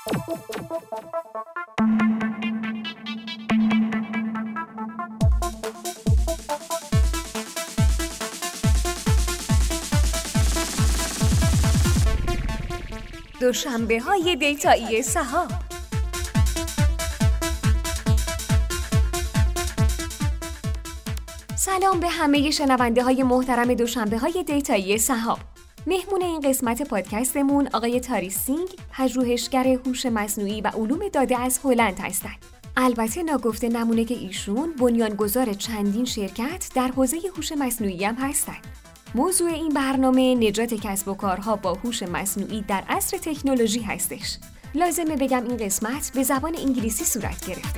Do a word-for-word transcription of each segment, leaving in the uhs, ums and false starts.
دوشنبه های دیتایی سهام. سلام به همه شنونده های محترم دوشنبه های دیتایی سهام. مهمون این قسمت پادکستمون آقای تاری سینگ، پژوهشگر هوش مصنوعی و علوم داده از هلند هستند. البته ناگفته نمونه که ایشون بنیانگذار چندین شرکت در حوزه هوش مصنوعی هم هستند. موضوع این برنامه نجات کسب و کارها با هوش مصنوعی در عصر تکنولوژی هستش. لازمه بگم این قسمت به زبان انگلیسی صورت گرفته.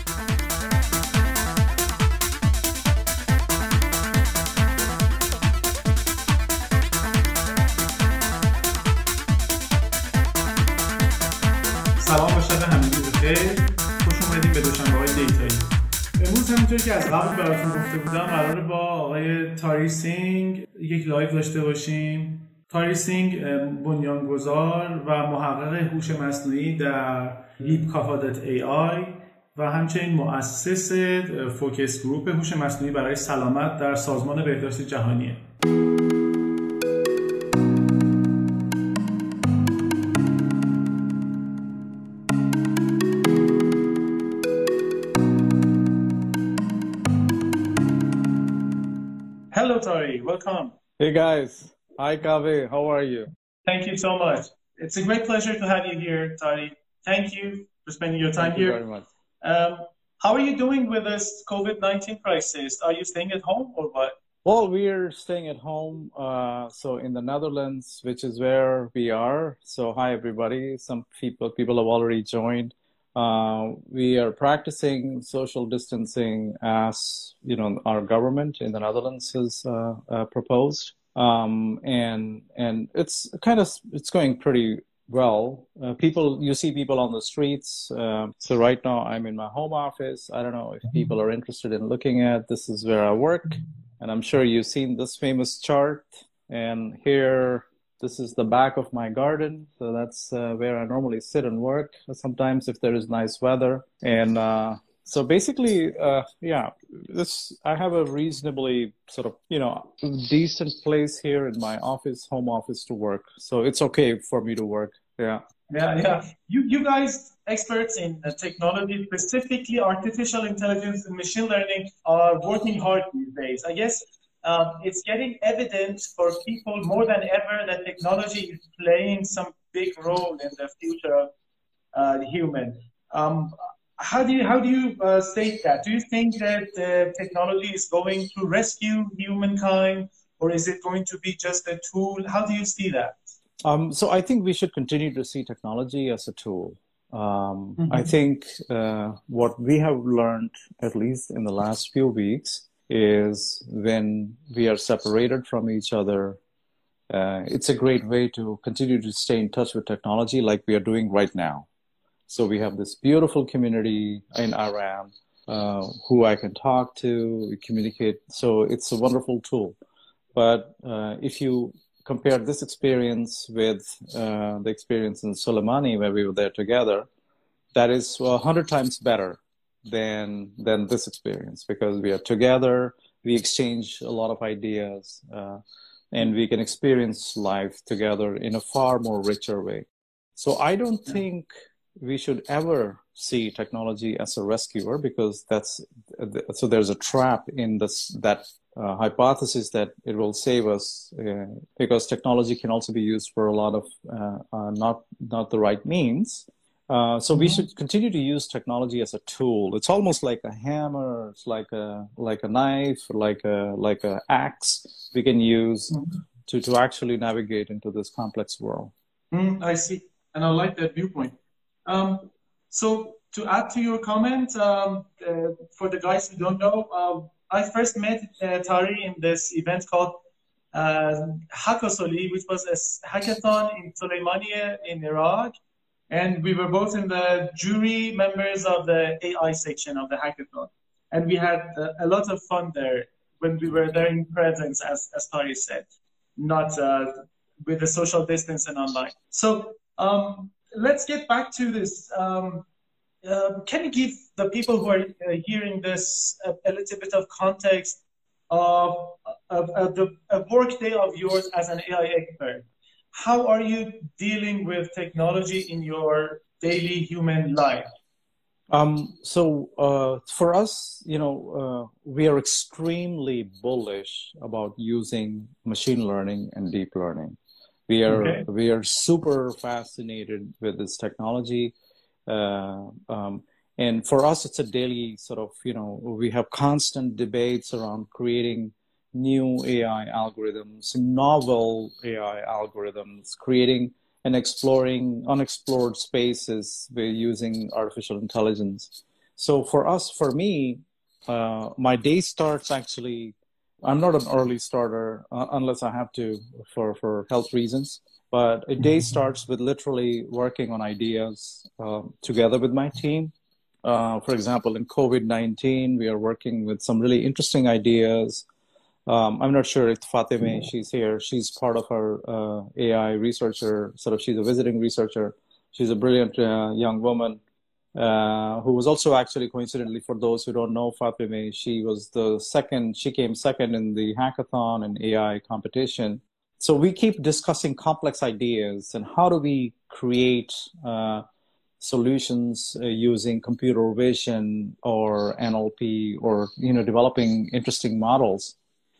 سلام و شب همگی بخیر. خوش اومدید به دوشنبه‌های دیتایی. امروز همونطور که از قبل براتون گفته بودم قراره با آقای تاری سینگ یک لایو داشته باشیم. تاری سینگ بنیانگذار و محقق هوش مصنوعی در لیپکافا دات ای آی و همچنین مؤسس فوکس گروپ هوش مصنوعی برای سلامت در سازمان بهداشت جهانیه. Hello, Tari. Welcome. Hey, guys. Hi, Kaveh. How are you? Thank you so much. It's a great pleasure to have you here, Tari. Thank you for spending your time Thank you here. very much. Um, how are you doing with this COVID nineteen crisis? Are you staying at home or what? Well, we're staying at home. Uh, so in the Netherlands, which is where we are. So hi, everybody. Some people people have already joined. Uh, we are practicing social distancing as, you know, our government in the Netherlands has uh, uh, proposed. Um, and and it's kind of, it's going pretty well. Uh, people, you see people on the streets. Uh, so right now I'm in my home office. I don't know if people are interested in looking at, this is where I work. And I'm sure you've seen this famous chart. And here, this is the back of my garden. So that's uh, where I normally sit and work sometimes if there is nice weather. And uh, so basically, uh, yeah, this, I have a reasonably sort of, you know, decent place here in my office, home office to work. So it's okay for me to work. Yeah. Yeah, yeah. You, you guys, experts in uh, technology, specifically artificial intelligence and machine learning, are working hard these days. I guess um, it's getting evident for people more than ever that technology is playing some big role in the future of uh, the human. Um, how do you how do you uh, state that? Do you think that uh, technology is going to rescue humankind, or is it going to be just a tool? How do you see that? Um, so I think we should continue to see technology as a tool. Um, mm-hmm. I think uh, what we have learned, at least in the last few weeks, is when we are separated from each other, uh, it's a great way to continue to stay in touch with technology like we are doing right now. So we have this beautiful community in Iran uh, who I can talk to, communicate. So it's a wonderful tool. But uh, if you compare this experience with uh, the experience in Soleimani where we were there together, that is a hundred times better than than this experience, because we are together, we exchange a lot of ideas, uh, and we can experience life together in a far more richer way. So I don't think we should ever see technology as a rescuer, because that's so there's a trap in this that uh, hypothesis that it will save us, uh, because technology can also be used for a lot of uh, uh, not not the right means. Uh, so we should continue to use technology as a tool. It's almost like a hammer. It's like a like a knife, like a like a axe we can use mm-hmm. to to actually navigate into this complex world. Mm, I see, and I like that viewpoint. Um, so to add to your comment, um, uh, for the guys who don't know, uh, I first met uh, Tari in this event called uh, Hackasoli, which was a hackathon in Soleimaniye in Iraq. And we were both in the jury members of the A I section of the hackathon. And we had uh, a lot of fun there when we were there in presence, as, as Tari said, not uh, with the social distance and online. So um, let's get back to this. Um, um, can you give the people who are uh, hearing this a, a little bit of context of, of, of the a work day of yours as an A I expert? How are you dealing with technology in your daily human life? Um, so uh, for us, you know, uh, we are extremely bullish about using machine learning and deep learning. We are okay. we are super fascinated with this technology, uh, um, and for us, it's a daily sort of, you know, we have constant debates around creating new A I algorithms, novel A I algorithms, creating and exploring unexplored spaces by using artificial intelligence. So for us, for me, uh, my day starts actually, I'm not an early starter uh, unless I have to for, for health reasons, but a day starts with literally working on ideas uh, together with my team. Uh, for example, in COVID nineteen, we are working with some really interesting ideas. Um, I'm not sure if Fatime, she's here. She's part of our uh, A I researcher, sort of she's a visiting researcher. She's a brilliant uh, young woman uh, who was also actually, coincidentally, for those who don't know Fatime, she was the second, she came second in the hackathon and A I competition. So we keep discussing complex ideas and how do we create uh, solutions uh, using computer vision or N L P or, you know, developing interesting models.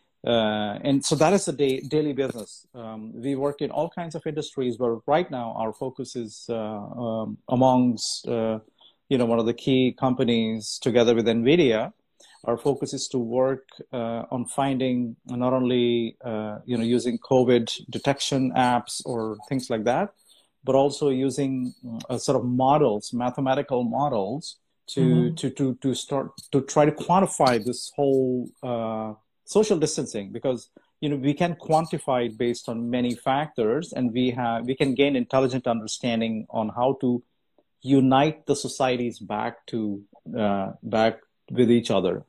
Uh, and so that is the day, daily business. Um, we work in all kinds of industries, but right now our focus is uh, um, amongst, uh, you know, one of the key companies together with NVIDIA. Our focus is to work uh, on finding not only, uh, you know, using COVID detection apps or things like that, but also using uh, sort of models, mathematical models to, mm-hmm. to, to, to start to try to quantify this whole uh, social distancing, because you know we can quantify it based on many factors, and we have we can gain intelligent understanding on how to unite the societies back to uh, back with each other.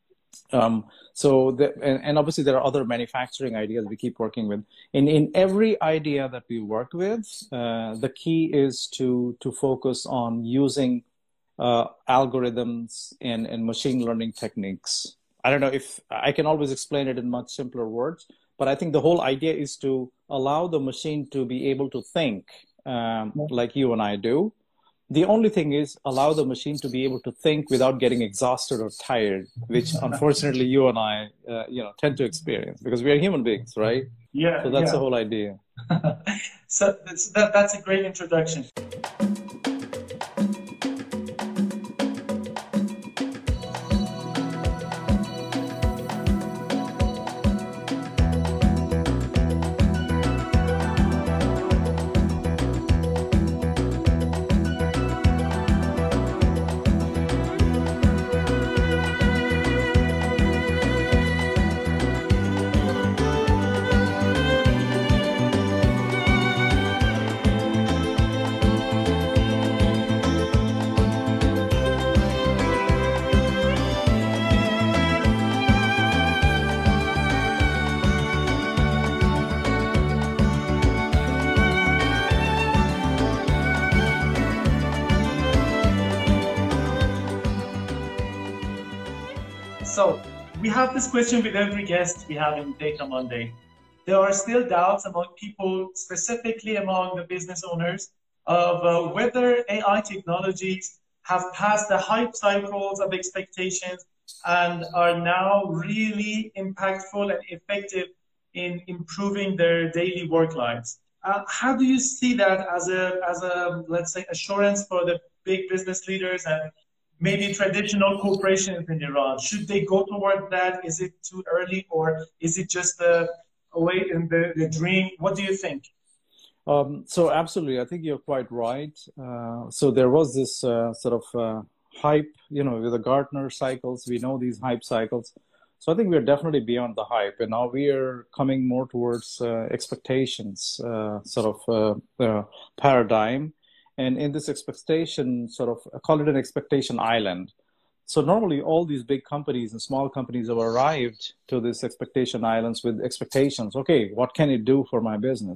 Um, so the, and, and obviously there are other manufacturing ideas we keep working with. In in every idea that we work with, uh, the key is to to focus on using uh, algorithms and, and machine learning techniques. I don't know if I can always explain it in much simpler words, but I think the whole idea is to allow the machine to be able to think um, like you and I do. The only thing is allow the machine to be able to think without getting exhausted or tired, which unfortunately you and I, uh, you know, tend to experience because we are human beings, right? Yeah. So that's yeah. the whole idea. So that's, that, that's a great introduction. So we have this question with every guest we have in Data Monday. There are still doubts among people, specifically among the business owners, of uh, whether A I technologies have passed the hype cycles of expectations and are now really impactful and effective in improving their daily work lives. Uh, how do you see that as a, as a, let's say, assurance for the big business leaders and maybe traditional corporations in Iran? Should they go toward that? Is it too early, or is it just a, a way in the, the dream? What do you think? Um, so absolutely, I think you're quite right. Uh, so there was this uh, sort of uh, hype, you know, with the Gartner cycles. We know these hype cycles. So I think we're definitely beyond the hype, and now we are coming more towards uh, expectations, uh, sort of uh, uh, paradigm. And in this expectation, sort of, I call it an expectation island. So normally all these big companies and small companies have arrived to this expectation islands with expectations. Okay, what can it do for my business?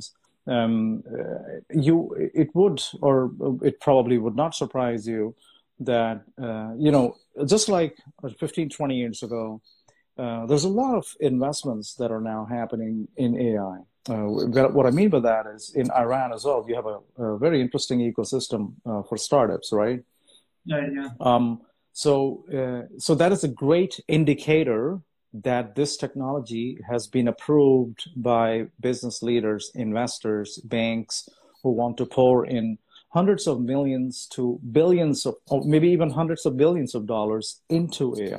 um, uh, you it would, or it probably would not surprise you that, uh, you know, just like fifteen, twenty years ago, uh, there's a lot of investments that are now happening in A I. Uh, what I mean by that is in Iran as well, you have a, a very interesting ecosystem uh, for startups, right? Yeah, yeah. Um, so, uh, so that is a great indicator that this technology has been approved by business leaders, investors, banks who want to pour in hundreds of millions to billions of, or maybe even hundreds of billions of dollars into A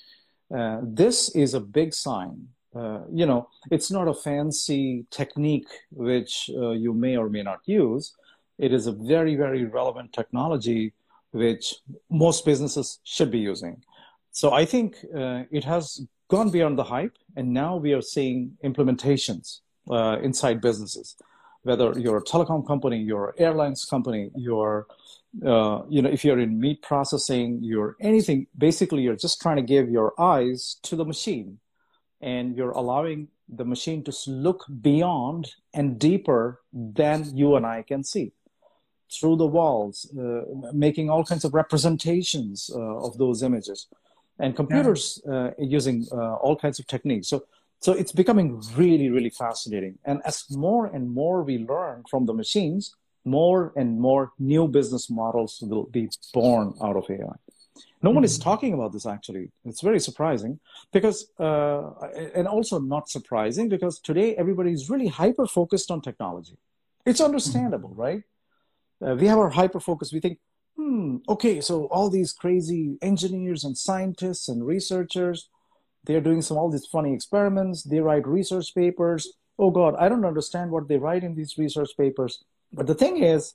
I. Uh, this is a big sign. Uh, you know, it's not a fancy technique which uh, you may or may not use. It is a very, very relevant technology which most businesses should be using. So I think uh, it has gone beyond the hype, and now we are seeing implementations uh, inside businesses. Whether you're a telecom company, you're an airlines company, you're, uh, you know, if you're in meat processing, you're anything, basically you're just trying to give your eyes to the machine, and you're allowing the machine to look beyond and deeper than you and I can see, through the walls, uh, making all kinds of representations uh, of those images, and computers uh, using uh, all kinds of techniques. So, so it's becoming really, really fascinating. And as more and more we learn from the machines, more and more new business models will be born out of A I. No one is talking about this, actually. It's very surprising because, uh, and also not surprising because today everybody is really hyper-focused on technology. It's understandable, right? Uh, we have our hyper-focus. We think, hmm, okay, so all these crazy engineers and scientists and researchers, they're doing some all these funny experiments. They write research papers. Oh, God, I don't understand what they write in these research papers. But the thing is,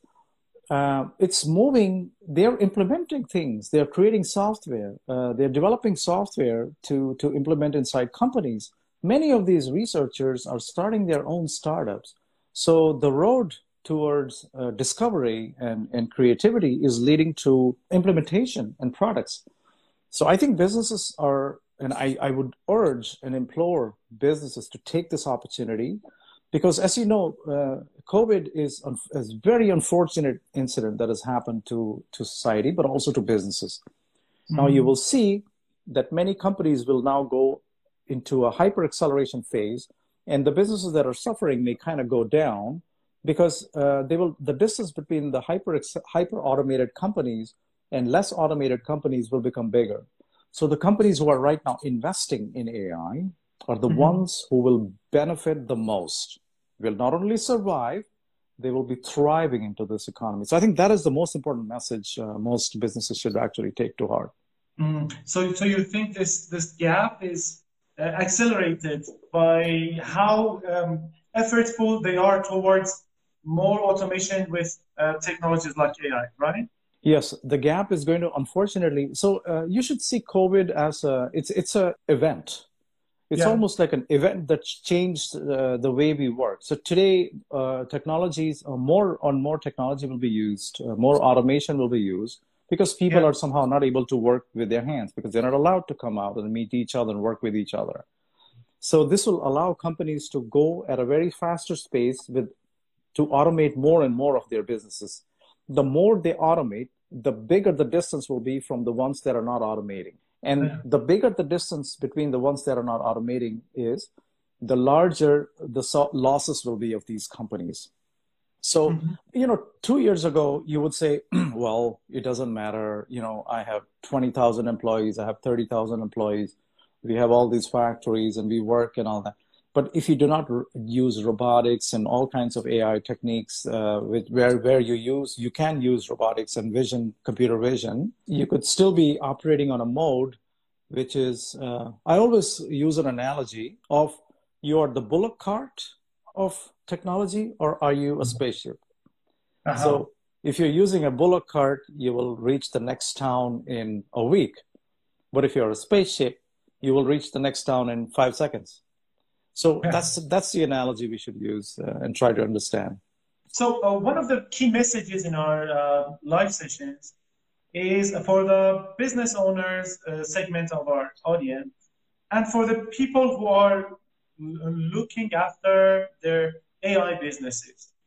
Uh, it's moving, they're implementing things, they're creating software, uh, they're developing software to, to implement inside companies. Many of these researchers are starting their own startups. So the road towards uh, discovery and, and creativity is leading to implementation and products. So I think businesses are, and I, I would urge and implore businesses to take this opportunity. Because as you know, uh, COVID is a un- very unfortunate incident that has happened to, to society, but also to businesses. Mm-hmm. Now you will see that many companies will now go into a hyper acceleration phase, and the businesses that are suffering may kind of go down because uh, they will. The distance between the hyper hyper automated companies and less automated companies will become bigger. So the companies who are right now investing in A I are the mm-hmm. ones who will benefit the most, will not only survive, they will be thriving into this economy. So I think that is the most important message uh, most businesses should actually take to heart. Mm. So, so you think this, this gap is uh, accelerated by how um, effortful they are towards more automation with uh, technologies like A I, right? Yes, the gap is going to, unfortunately, so uh, you should see COVID as a, it's, it's a event. It's yeah. almost like an event that changed uh, the way we work. So today, uh, technologies, uh, more on more technology will be used, uh, more automation will be used because people yeah. are somehow not able to work with their hands because they're not allowed to come out and meet each other and work with each other. So this will allow companies to go at a very faster pace with to automate more and more of their businesses. The more they automate, the bigger the distance will be from the ones that are not automating. And the bigger the distance between the ones that are not automating is, the larger the so- losses will be of these companies. So, mm-hmm. you know, two years ago, you would say, well, it doesn't matter. You know, I have twenty thousand employees. I have thirty thousand employees. We have all these factories and we work and all that. But if you do not r- use robotics and all kinds of A I techniques, uh, with where, where you use, you can use robotics and vision, computer vision, you could still be operating on a mode, which is, uh, I always use an analogy of you are the bullock cart of technology, or are you a spaceship? Uh-huh. So if you're using a bullock cart, you will reach the next town in a week. But if you're a spaceship, you will reach the next town in five seconds. So yeah. that's that's the analogy we should use uh, and try to understand. So uh, one of the key messages in our uh, live sessions is for the business owners uh, segment of our audience and for the people who are looking after their A I businesses.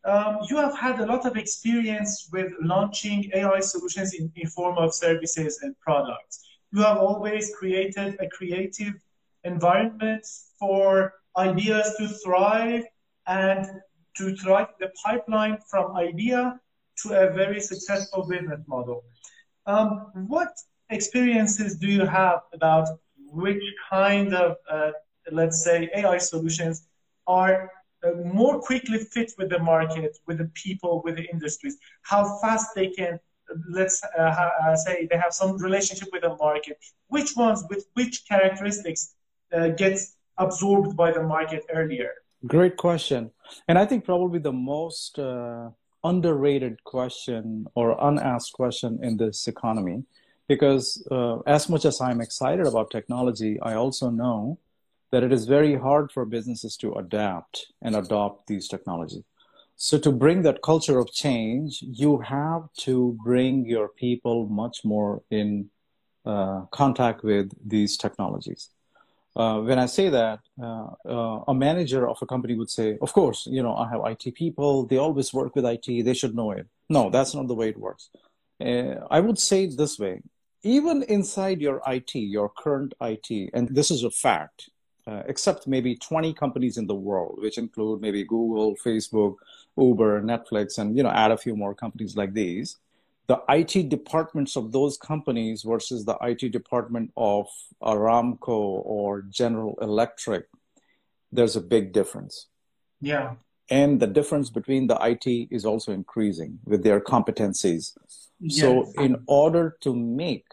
um, you have had a lot of experience with launching A I solutions in, in form of services and products. You have always created a creative environment for ideas to thrive and to thrive the pipeline from idea to a very successful business model. Um, what experiences do you have about which kind of, uh, let's say, A I solutions are uh, more quickly fit with the market, with the people, with the industries? How fast they can, let's uh, uh, say, they have some relationship with the market. Which ones, with which characteristics uh, gets absorbed by the market earlier? Great question. And I think probably the most uh, underrated question or unasked question in this economy, because uh, as much as I'm excited about technology, I also know that it is very hard for businesses to adapt and adopt these technologies. So to bring that culture of change, you have to bring your people much more in uh, contact with these technologies. Uh, when I say that, uh, uh, a manager of a company would say, of course, you know, I have I T people, they always work with I T, they should know it. No, that's not the way it works. Uh, I would say it this way, even inside your I T, your current I T, and this is a fact, uh, except maybe twenty companies in the world, which include maybe Google, Facebook, Uber, Netflix, and, you know, add a few more companies like these. The I T departments of those companies versus the I T department of Aramco or General Electric, there's a big difference. Yeah. And the difference between the I T is also increasing with their competencies. Yes. So in order to make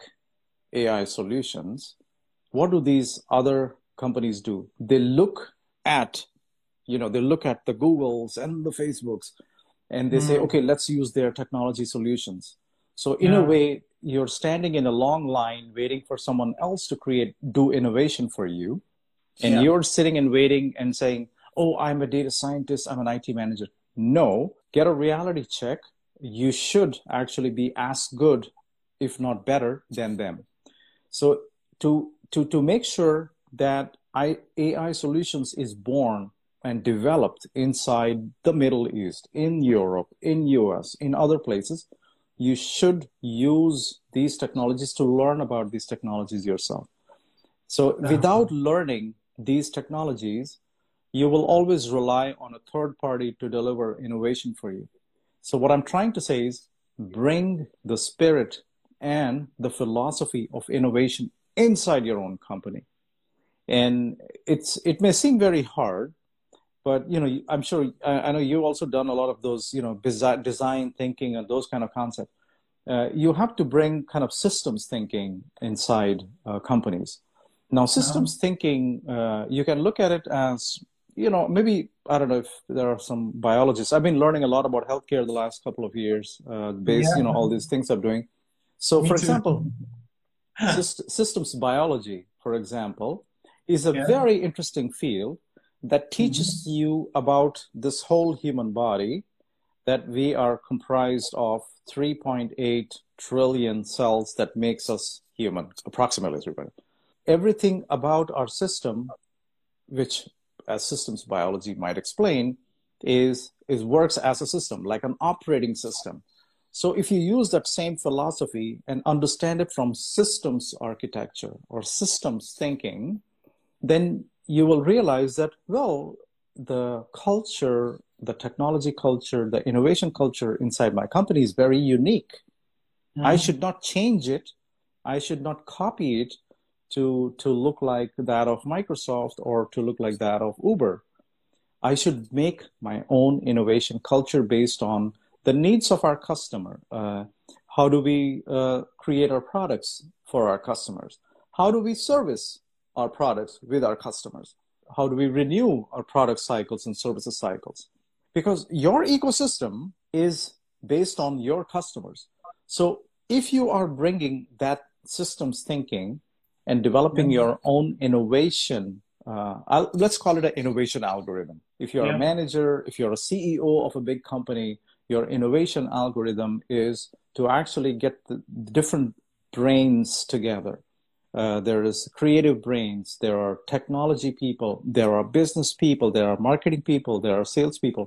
A I solutions, what do these other companies do? They look at, you know, they look at the Googles and the Facebooks, and they mm. say, okay, let's use their technology solutions. So in yeah. a way, you're standing in a long line waiting for someone else to create, do innovation for you. And yeah. you're sitting and waiting and saying, oh, I'm a data scientist, I'm an I T manager. No, get a reality check. You should actually be as good, if not better, than them. So to, to, to make sure that I, A I solutions is born and developed inside the Middle East, in Europe, in U S, in other places, you should use these technologies to learn about these technologies yourself. So without learning these technologies, you will always rely on a third party to deliver innovation for you. So what I'm trying to say is bring the spirit and the philosophy of innovation inside your own company. And it's it may seem very hard, but, you know, I'm sure, I know you've also done a lot of those, you know, design thinking and those kind of concepts. Uh, you have to bring kind of systems thinking inside uh, companies. Now, systems uh-huh. thinking, uh, you can look at it as, you know, maybe, I don't know if there are some biologists. I've been learning a lot about healthcare the last couple of years, uh, based, yeah. you know, all these things I'm doing. So, Me for too. example, syst- systems biology, for example, is a yeah. very interesting field that teaches mm-hmm. you about this whole human body, that we are comprised of three point eight trillion cells that makes us human, approximately three point eight. Everything about our system, which as systems biology might explain, is, is works as a system, like an operating system. So if you use that same philosophy and understand it from systems architecture or systems thinking, then you will realize that, well, the culture, the technology culture, the innovation culture inside my company is very unique. Mm-hmm. I should not change it. I should not copy it to, to look like that of Microsoft or to look like that of Uber. I should make my own innovation culture based on the needs of our customer. Uh, how do we uh, create our products for our customers? How do we service our products with our customers? How do we renew our product cycles and services cycles? Because your ecosystem is based on your customers. So if you are bringing that systems thinking and developing yeah. your own innovation, uh, I'll, let's call it an innovation algorithm. If you're yeah. a manager, if you're a C E O of a big company, your innovation algorithm is to actually get the different brains together. Uh, there is creative brains, there are technology people, there are business people, there are marketing people, there are sales people.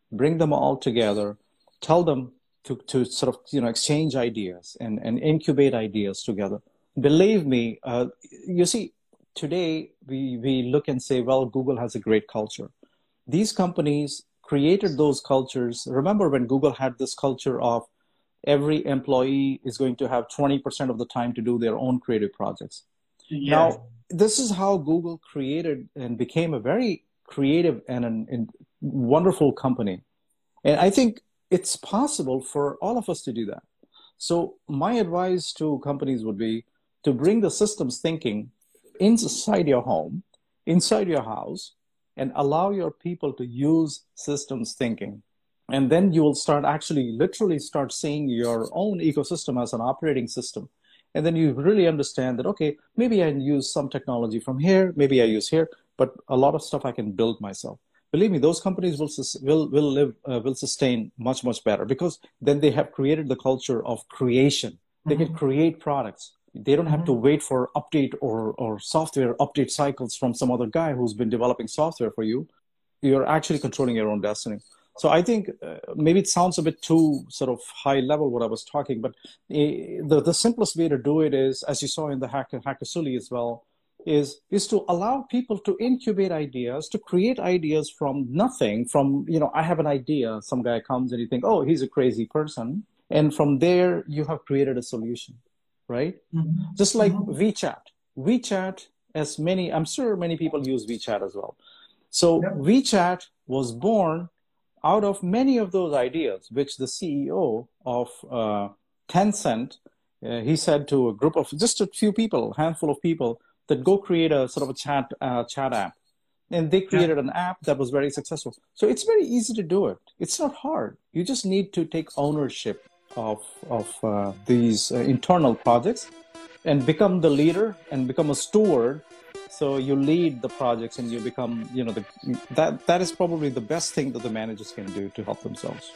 bring them all together, tell them to, to sort of, you know, exchange ideas and, and incubate ideas together. Believe me, uh, you see, today we, we look and say, well, Google has a great culture. These companies created those cultures. Remember when Google had this culture of every employee is going to have twenty percent of the time to do their own creative projects. Yeah. Now, this is how Google created and became a very creative and, an, and wonderful company. And I think it's possible for all of us to do that. So my advice to companies would be to bring the systems thinking inside your home, inside your house, and allow your people to use systems thinking. And then you will start actually literally start seeing your own ecosystem as an operating system. And then you really understand that, okay, maybe I use some technology from here, maybe I use here, but a lot of stuff I can build myself. Believe me, those companies will will will live uh, will sustain much much better, because then they have created the culture of creation. They mm-hmm. can create products. They don't have mm-hmm. to wait for update or or software update cycles from some other guy who's been developing software for you. You're actually controlling your own destiny. So I think uh, maybe it sounds a bit too sort of high level what I was talking, but uh, the the simplest way to do it is, as you saw in the Hacker Hackasuli as well, is is to allow people to incubate ideas, to create ideas from nothing. From, you know, I have an idea, some guy comes and you think, oh, he's a crazy person, and from there you have created a solution, right? Mm-hmm. Just like mm-hmm. WeChat. WeChat, as many, I'm sure many people use WeChat as well. So yep. WeChat was born out of many of those ideas, which the C E O of uh, Tencent, uh, he said to a group of just a few people, a handful of people, that go create a sort of a chat uh, chat app. And they created yeah. an app that was very successful. So it's very easy to do it. It's not hard. You just need to take ownership of, of uh, these uh, internal projects and become the leader and become a steward. So you lead the projects and you become, you know, the, that that is probably the best thing that the managers can do to help themselves.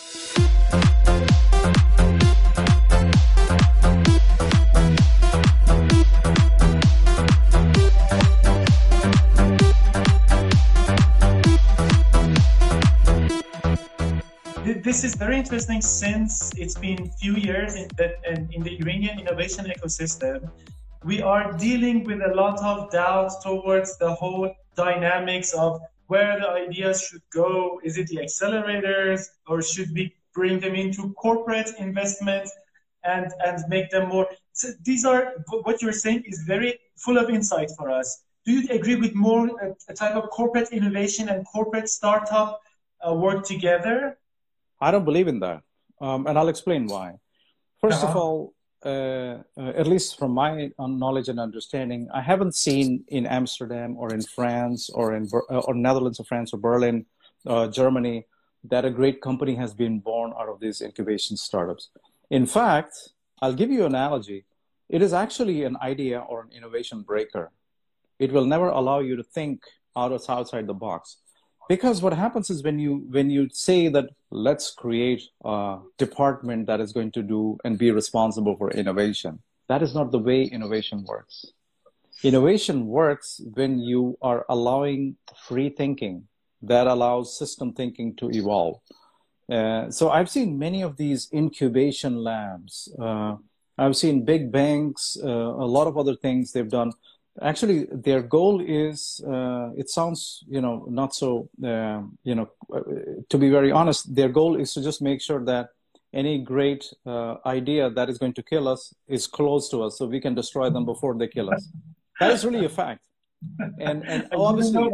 This is very interesting, since it's been few years in, that, in the Iranian innovation ecosystem. We are dealing with a lot of doubt towards the whole dynamics of where the ideas should go. Is it the accelerators, or should we bring them into corporate investment and, and make them more? So these are, what you're saying is very full of insight for us. Do you agree with more a, a type of corporate innovation and corporate startup uh, work together? I don't believe in that. Um, and I'll explain why. First uh-huh. of all, Uh, uh, at least from my knowledge and understanding, I haven't seen in Amsterdam or in France or in uh, or Netherlands or France or Berlin, uh, Germany, that a great company has been born out of these incubation startups. In fact, I'll give you an analogy. It is actually an idea or an innovation breaker. It will never allow you to think out of outside the box. Because what happens is when you when you say that let's create a department that is going to do and be responsible for innovation, that is not the way innovation works. Innovation works when you are allowing free thinking that allows system thinking to evolve. Uh, so I've seen many of these incubation labs. Uh, I've seen big banks, uh, a lot of other things they've done. Actually, their goal is, uh, it sounds, you know, not so, uh, you know, to be very honest, their goal is to just make sure that any great uh, idea that is going to kill us is close to us so we can destroy them before they kill us. That is really a fact. And, and obviously,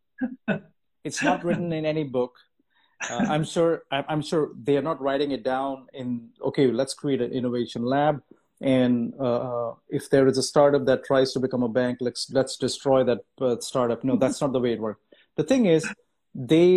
it's not written in any book. Uh, I'm sure, I'm sure they are not writing it down in, okay, let's create an innovation lab. And uh, if there is a startup that tries to become a bank, let's let's destroy that uh, startup. No, that's not the way it works. The thing is, they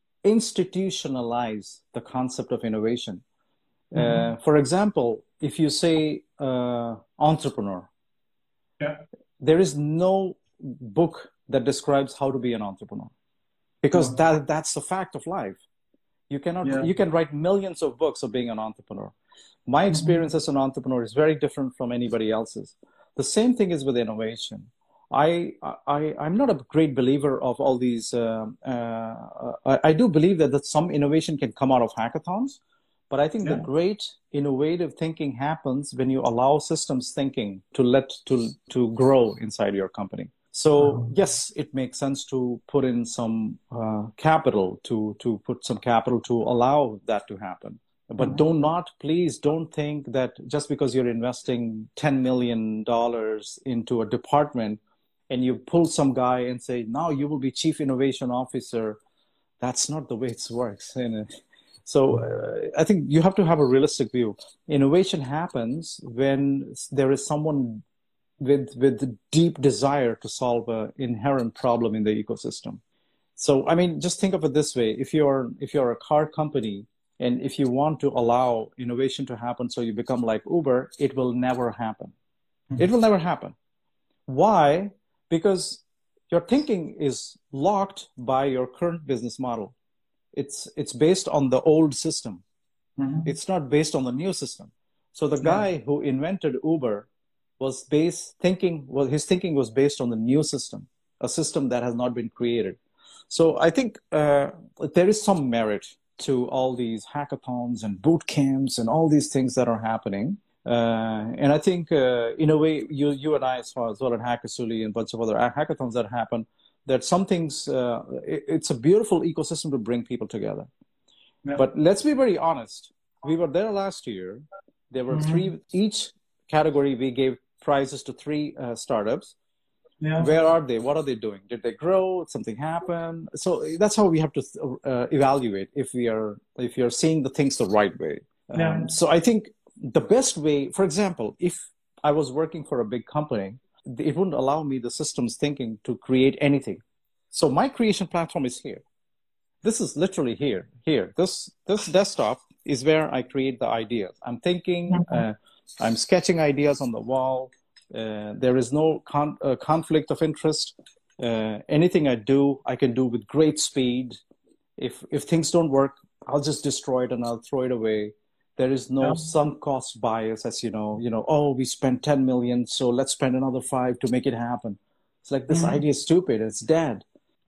institutionalize the concept of innovation. Mm-hmm. Uh, for example, if you say uh, entrepreneur, yeah. there is no book that describes how to be an entrepreneur, because mm-hmm. that that's the fact of life. You cannot yeah. you can write millions of books of being an entrepreneur. My experience as an entrepreneur is very different from anybody else's. The same thing is with innovation. I, I, I'm not a great believer of all these. Uh, uh, I, I do believe that, that some innovation can come out of hackathons, but I think yeah. the great innovative thinking happens when you allow systems thinking to let to to grow inside your company. So yes, it makes sense to put in some uh, capital to to put some capital to allow that to happen. But do not, please don't think that just because you're investing ten million dollars into a department and you pull some guy and say, now you will be chief innovation officer. That's not the way it works. So uh, I think you have to have a realistic view. Innovation happens when there is someone with, with deep desire to solve an inherent problem in the ecosystem. So, I mean, just think of it this way. If you're, if you're a car company, and if you want to allow innovation to happen so you become like Uber, it will never happen. Mm-hmm. It will never happen. Why? Because your thinking is locked by your current business model. It's, it's based on the old system. Mm-hmm. It's not based on the new system. So the guy yeah. who invented Uber was based thinking, well, his thinking was based on the new system, a system that has not been created. So I think uh, there is some merit to all these hackathons and boot camps and all these things that are happening. Uh, and I think, uh, in a way, you you and I, as far as well, at Hackasuli and a bunch of other hackathons that happen, that some things, uh, it, it's a beautiful ecosystem to bring people together. Yeah. But let's be very honest. We were there last year. There were mm-hmm. three, each category we gave prizes to three uh, startups. Yeah. Where are they? What are they doing? Did they grow? Did something happen? So that's how we have to uh, evaluate if we are if you're seeing the things the right way. Yeah. Um, so I think the best way, for example, if I was working for a big company, it wouldn't allow me the systems thinking to create anything. So my creation platform is here. This is literally here. Here, this this desktop is where I create the ideas. I'm thinking. Uh, I'm sketching ideas on the wall. Uh, there is no con uh, conflict of interest. Uh, anything I do, I can do with great speed. If if things don't work, I'll just destroy it and I'll throw it away. There is no yeah. sunk cost bias, as you know. You know, oh, we spent ten million, so let's spend another five to make it happen. It's like this mm-hmm. idea is stupid. It's dead.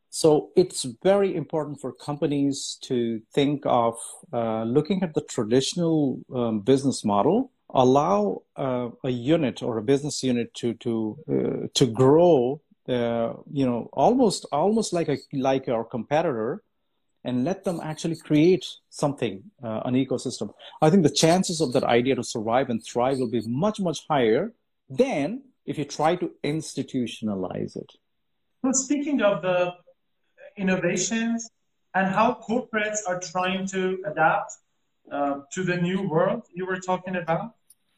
So it's very important for companies to think of uh, looking at the traditional um, business model. Allow uh, a unit or a business unit to to uh, to grow, uh, you know, almost almost like a like our competitor, and let them actually create something, uh, an ecosystem. I think the chances of that idea to survive and thrive will be much much higher than if you try to institutionalize it. Well, speaking of the innovations and how corporates are trying to adapt uh, to the new world you were talking about.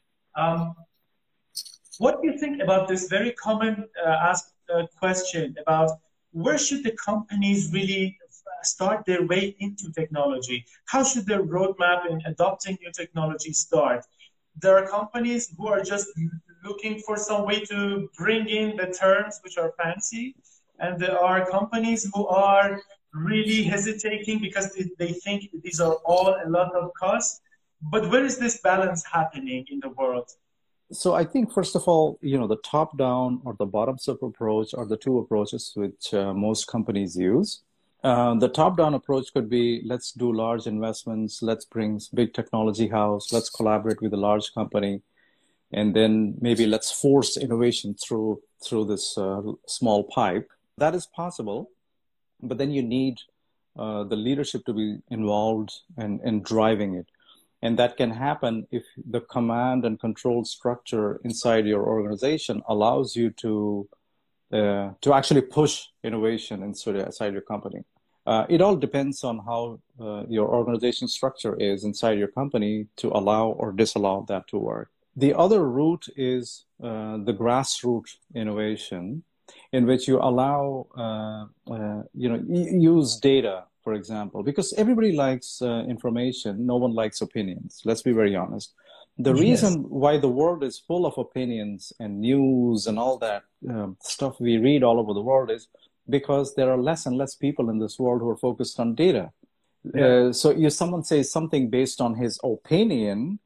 Um, what do you think about this very common uh, asked uh, question about where should the companies really start their way into technology? How should their roadmap in adopting new technology start? There are companies who are just looking for some way to bring in the terms which are fancy, and there are companies who are really hesitating because they think these are all a lot of costs. But where is this balance happening in the world? So I think, first of all, you know, the top-down or the bottoms-up approach are the two approaches which uh, most companies use. Uh, the top-down approach could be, let's do large investments, let's bring big technology house, let's collaborate with a large company, and then maybe let's force innovation through through this uh, small pipe. That is possible, but then you need uh, the leadership to be involved and, and driving it. And that can happen if the command and control structure inside your organization allows you to uh, to actually push innovation inside, inside your company. Uh, it all depends on how uh, your organization structure is inside your company to allow or disallow that to work. The other route is uh, the grassroots innovation, in which you allow, uh, uh, you know, use data, for example, because everybody likes uh, information. No one likes opinions. Let's be very honest. The yes. reason why the world is full of opinions and news and all that um, stuff we read all over the world is because there are less and less people in this world who are focused on data. Yeah. Uh, so if someone says something based on his opinion,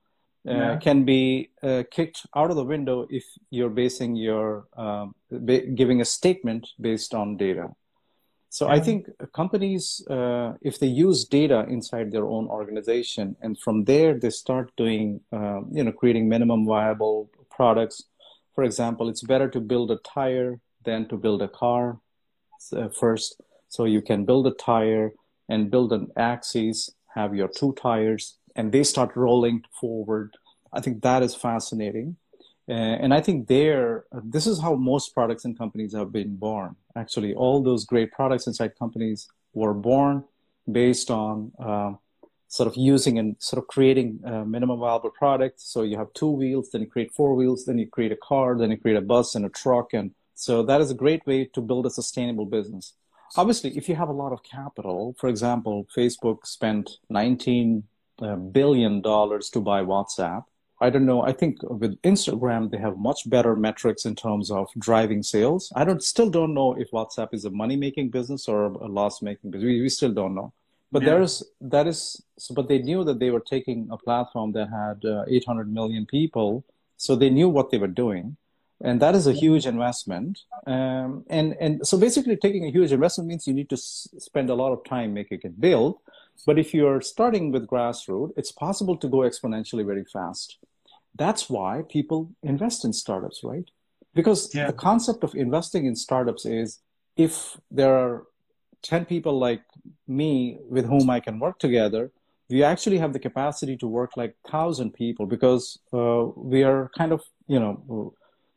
uh, Yeah. can be uh, kicked out of the window if you're basing your um, ba- giving a statement based on data. So I Yeah. think companies, uh, if they use data inside their own organization, and from there they start doing, um, you know, creating minimum viable products. For example, it's better to build a tire than to build a car uh, first. So you can build a tire and build an axis, have your two tires, and they start rolling forward. I think that is fascinating. Uh, and I think there, uh, this is how most products and companies have been born. Actually, all those great products inside companies were born based on uh, sort of using and sort of creating a minimum viable product. So you have two wheels, then you create four wheels, then you create a car, then you create a bus and a truck. And so that is a great way to build a sustainable business. Obviously, if you have a lot of capital, for example, Facebook spent nineteen billion dollars to buy WhatsApp. I don't know. I think with Instagram, they have much better metrics in terms of driving sales. I don't still don't know if WhatsApp is a money-making business or a loss-making business. We, we still don't know. But Yeah. there is that is. So, but they knew that they were taking a platform that had uh, eight hundred million people, so they knew what they were doing, and that is a huge investment. Um, and and so basically, taking a huge investment means you need to s- spend a lot of time making it build. But if you're starting with grassroots, it's possible to go exponentially very fast. That's why people invest in startups, right? Because Yeah. the concept of investing in startups is if there are ten people like me with whom I can work together, we actually have the capacity to work like one thousand people because uh, we are kind of, you know,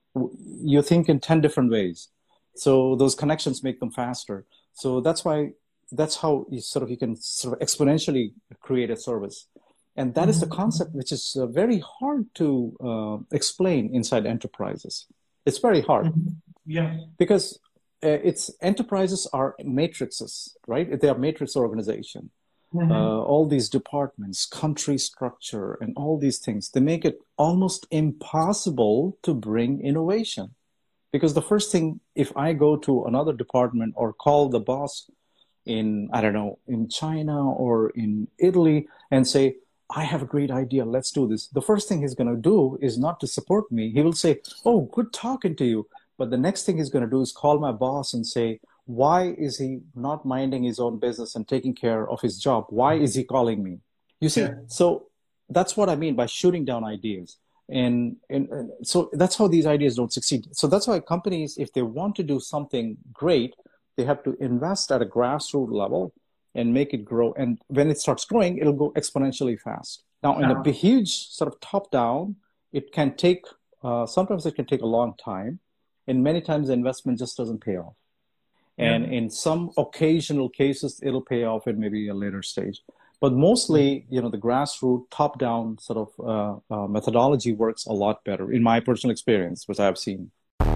you think in ten different ways. So those connections make them faster. So that's why, that's how you sort of, you can sort of exponentially create a service. And that is the concept which is uh, very hard to uh, explain inside enterprises. It's very hard Yeah. because uh, it's enterprises are matrices, right? They are matrix organization. Mhm. Uh, all these departments, country structure, and all these things, they make it almost impossible to bring innovation. Because the first thing, if I go to another department or call the boss in, I don't know, in China or in Italy and say, I have a great idea, let's do this. The first thing he's going to do is not to support me. He will say, oh, good talking to you. But the next thing he's going to do is call my boss and say, why is he not minding his own business and taking care of his job? Why is he calling me? You see, Yeah. so that's what I mean by shooting down ideas. And, and, and so that's how these ideas don't succeed. So that's why companies, if they want to do something great, they have to invest at a grassroots level and make it grow. And when it starts growing, it'll go exponentially fast. Now, in a big, huge sort of top down, it can take, uh, sometimes it can take a long time. And many times the investment just doesn't pay off. And Yeah. in some occasional cases, it'll pay off at maybe a later stage. But mostly, you know, the grassroots top down sort of uh, uh, methodology works a lot better in my personal experience, which I've seen.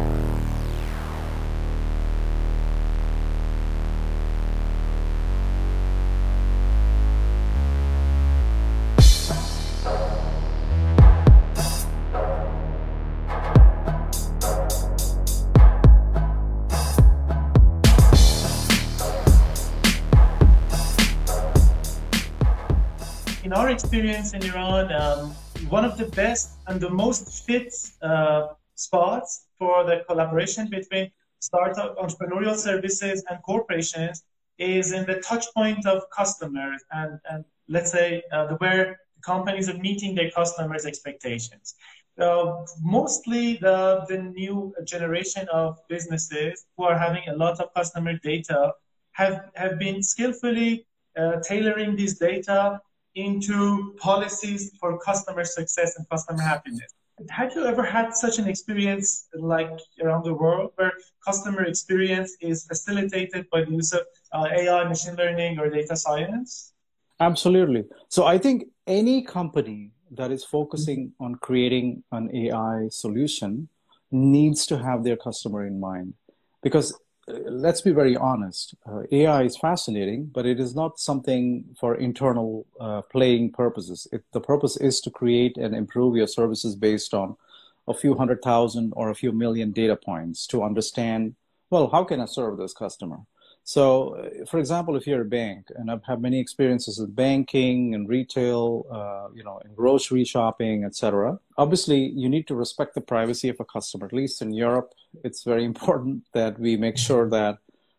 In our experience in Iran, um, one of the best and the most fit uh, spots for the collaboration between startup entrepreneurial services and corporations is in the touch point of customers and, and let's say uh, the, where companies are meeting their customers' expectations. Uh, mostly the, the new generation of businesses who are having a lot of customer data have, have been skillfully uh, tailoring this data into policies for customer success and customer happiness. Have you ever had such an experience like around the world where customer experience is facilitated by the use of uh, A I, machine learning, or data science? Absolutely. So I think any company that is focusing on creating an A I solution needs to have their customer in mind. Because uh, let's be very honest, uh, A I is fascinating, but it is not something for internal uh, playing purposes. It, the purpose is to create and improve your services based on a few hundred thousand or a few million data points to understand, well, how can I serve this customer? So, uh, for example, if you're a bank, and I've had many experiences with banking and retail, uh, you know, and grocery shopping, et cetera. Obviously, you need to respect the privacy of a customer. At least in Europe, it's very important that we make sure that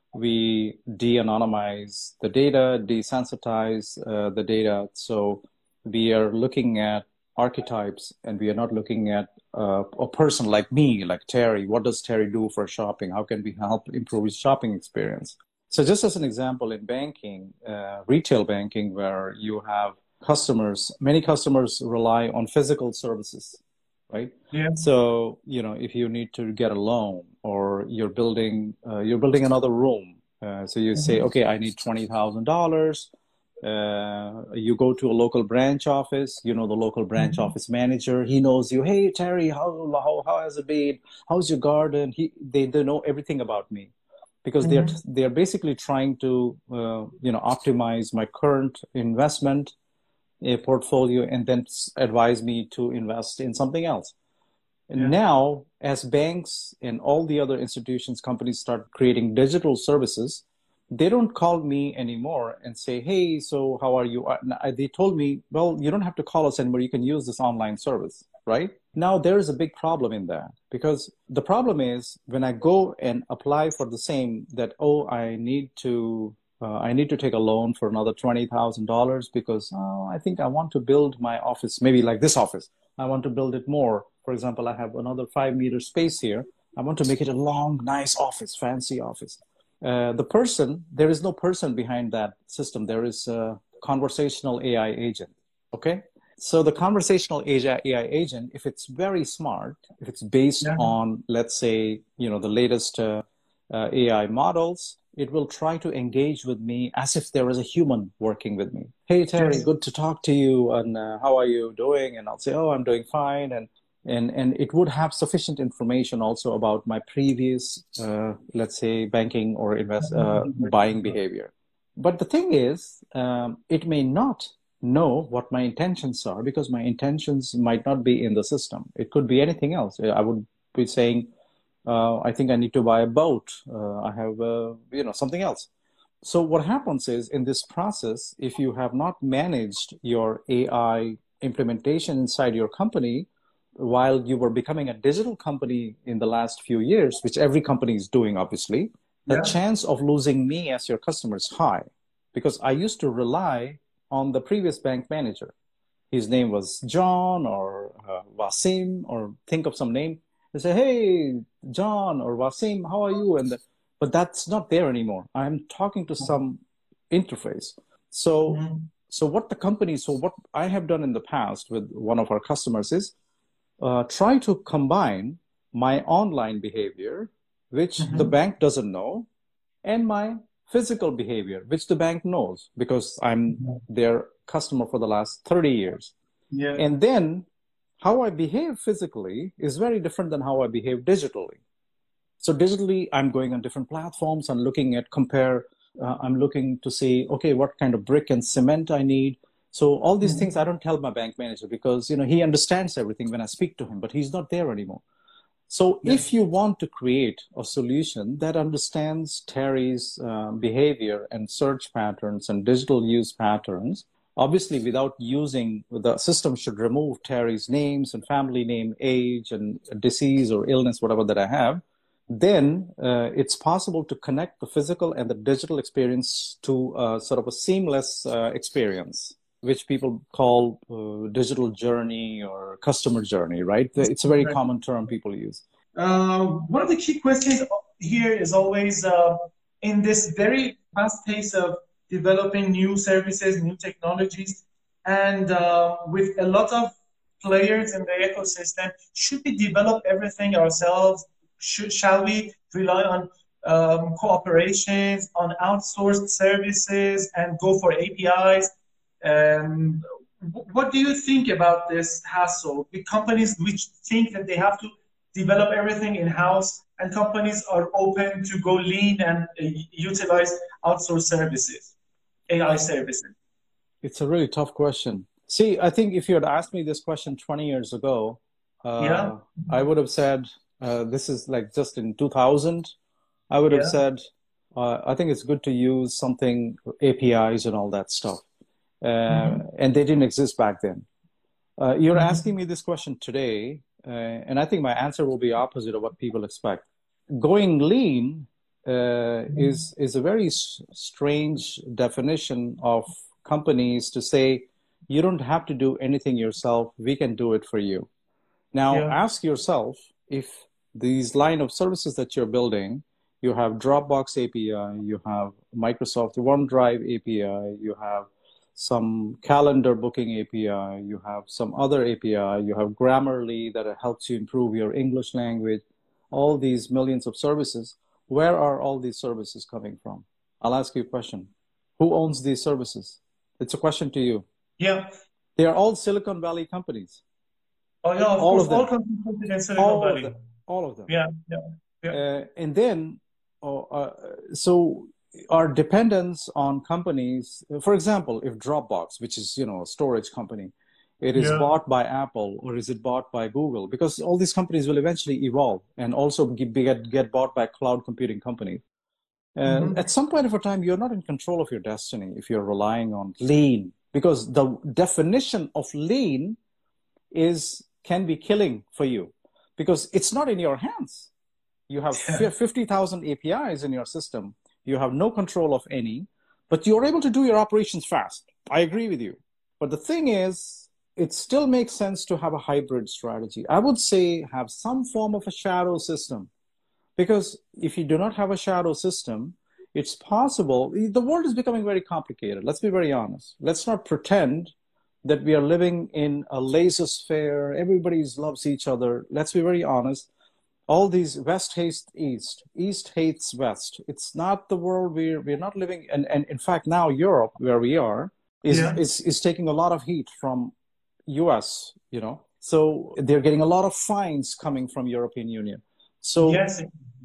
we de-anonymize the data, desensitize uh, the data. So we are looking at archetypes, and we are not looking at uh, a person like me, like Terry. What does Terry do for shopping? How can we help improve his shopping experience? So just as an example, in banking, uh, retail banking, where you have customers, many customers rely on physical services, right? Yeah. So, you know, if you need to get a loan, or you're building, uh, you're building another room. Uh, so you say, okay, I need twenty thousand dollars. Uh, you go to a local branch office, you know, the local branch mm-hmm. office manager, he knows you. Hey, Terry, how, how, how has it been? How's your garden? He, they, they know everything about me, because mm-hmm. they're, they're basically trying to, uh, you know, optimize my current investment uh, portfolio, and then advise me to invest in something else. And yeah. now, as banks and all the other institutions, companies start creating digital services, they don't call me anymore and say, hey, so how are you? They told me, well, you don't have to call us anymore. You can use this online service, right? Now, there is a big problem in that, because the problem is when I go and apply for the same, that, oh, I need to, uh, I need to take a loan for another twenty thousand dollars because, oh, I think I want to build my office, maybe like this office. I want to build it more. For example, I have another five meter space here. I want to make it a long, nice office, fancy office. Uh, the person, there is no person behind that system. There is a conversational A I agent, okay? So the conversational A I agent, if it's very smart, if it's based yeah. on, let's say, you know, the latest uh, uh, A I models, it will try to engage with me as if there is a human working with me. Hey, Terry, yes. good to talk to you, and uh, how are you doing? And I'll say, oh, I'm doing fine. And And, and it would have sufficient information also about my previous, uh, let's say, banking or invest, uh, buying behavior. But the thing is, um, it may not know what my intentions are, because my intentions might not be in the system. It could be anything else. I would be saying, uh, I think I need to buy a boat. Uh, I have, uh, you know, something else. So what happens is, in this process, if you have not managed your A I implementation inside your company, while you were becoming a digital company in the last few years, which every company is doing, obviously, the yeah. chance of losing me as your customer is high, because I used to rely on the previous bank manager. His name was John or uh, Wasim, or think of some name. They say, hey, John or Wasim, how are you? And the, but that's not there anymore. I'm talking to some interface. So, mm-hmm. so what the company, so what I have done in the past with one of our customers is, Uh, try to combine my online behavior, which mm-hmm. the bank doesn't know, and my physical behavior, which the bank knows, because I'm mm-hmm. their customer for the last thirty years. Yeah. And then how I behave physically is very different than how I behave digitally. So digitally, I'm going on different platforms. I'm looking at compare. Uh, I'm looking to see, okay, what kind of brick and cement I need. So all these things I don't tell my bank manager, because, you know, he understands everything when I speak to him, but he's not there anymore. So yeah. if you want to create a solution that understands Terry's uh, behavior and search patterns and digital use patterns, obviously without using, the system should remove Terry's names and family name, age, and disease or illness, whatever that I have, then uh, it's possible to connect the physical and the digital experience to uh, sort of a seamless uh, experience, which people call uh, digital journey or customer journey, right? It's a very common term people use. Uh, one of the key questions here is always, uh, in this very fast pace of developing new services, new technologies, and uh, with a lot of players in the ecosystem, should we develop everything ourselves? Should, shall we rely on um, cooperations, on outsourced services, and go for A P Is? Um, what do you think about this hassle? The companies which think that they have to develop everything in-house, and companies are open to go lean and uh, utilize outsourced services, A I services? It's a really tough question. See, I think if you had asked me this question twenty years ago, uh, yeah. I would have said, uh, this is like just in two thousand, I would have yeah. said, uh, I think it's good to use something, A P Is and all that stuff. Uh, mm-hmm. And they didn't exist back then. Uh, you're mm-hmm. asking me this question today, uh, and I think my answer will be opposite of what people expect. Going lean uh, mm-hmm. is, is a very s- strange definition of companies to say, you don't have to do anything yourself, we can do it for you. Now, yeah. ask yourself if these line of services that you're building, you have Dropbox A P I, you have Microsoft OneDrive A P I, you have some calendar booking A P I, you have some other A P I, you have Grammarly that helps you improve your English language, all these millions of services. Where are all these services coming from? I'll ask you a question. Who owns these services? It's a question to you. Yeah. They are all Silicon Valley companies. Oh, yeah, of all course, of them. all companies in Silicon all Valley. Of them. All of them. Yeah, yeah, yeah. Uh, and then, uh, uh, so our dependence on companies, for example, if Dropbox, which is, you know, a storage company, it is yeah. bought by Apple or is it bought by Google? Because all these companies will eventually evolve and also get, get bought by cloud computing companies. And mm-hmm. at some point of a time, you're not in control of your destiny if you're relying on lean, because the definition of lean is can be killing for you because it's not in your hands. You have fifty thousand A P Is in your system. You have no control of any, but you're able to do your operations fast. I agree with you. But the thing is, it still makes sense to have a hybrid strategy. I would say have some form of a shadow system. Because if you do not have a shadow system, it's possible. The world is becoming very complicated. Let's be very honest. Let's not pretend that we are living in a laissez-faire. Everybody loves each other. Let's be very honest. All these West hates East, East hates West. It's not the world we're, we're not living. And, and in fact, now Europe, where we are, is, yeah. is, is taking a lot of heat from U S, you know. So they're getting a lot of fines coming from European Union. So yes.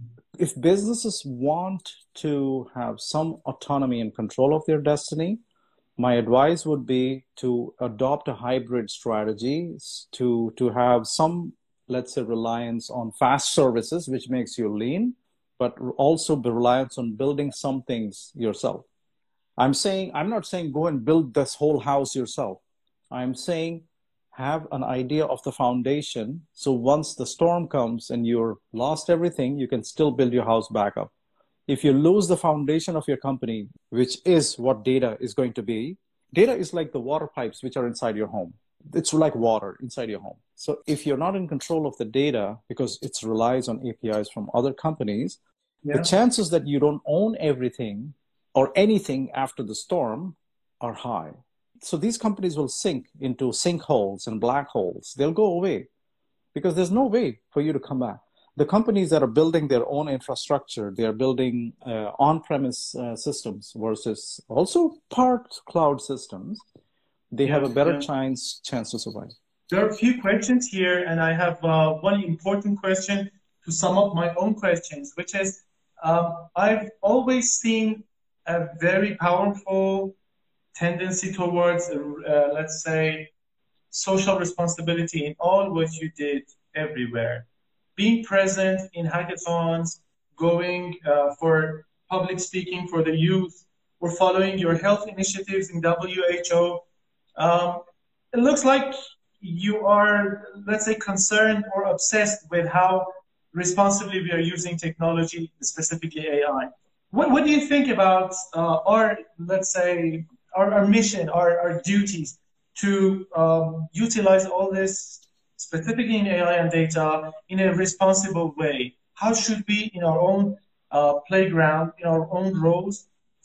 if businesses want to have some autonomy and control of their destiny, my advice would be to adopt a hybrid strategy, to, to have some, let's say, reliance on fast services, which makes you lean, but also the reliance on building some things yourself. I'm saying, I'm not saying go and build this whole house yourself. I'm saying have an idea of the foundation. So once the storm comes and you're lost everything, you can still build your house back up. If you lose the foundation of your company, which is what data is going to be, data is like the water pipes which are inside your home. It's like water inside your home. So if you're not in control of the data because it relies on A P Is from other companies, yeah. the chances that you don't own everything or anything after the storm are high. So these companies will sink into sinkholes and black holes. They'll go away because there's no way for you to come back. The companies that are building their own infrastructure, they are building uh, on-premise uh, systems versus also part cloud systems, they yeah, have a better yeah. chance, chance to survive. There are a few questions here, and I have uh, one important question to sum up my own questions, which is, um, I've always seen a very powerful tendency towards, uh, let's say, social responsibility in all what you did everywhere. Being present in hackathons, going uh, for public speaking for the youth, or following your health initiatives in W H O. Um, it looks like you are, let's say, concerned or obsessed with how responsibly we are using technology, specifically A I. What, what do you think about uh, our, let's say, our, our mission, our, our duties to um, utilize all this, specifically in A I and data, in a responsible way? How should we, in our own uh, playground, in our own roles,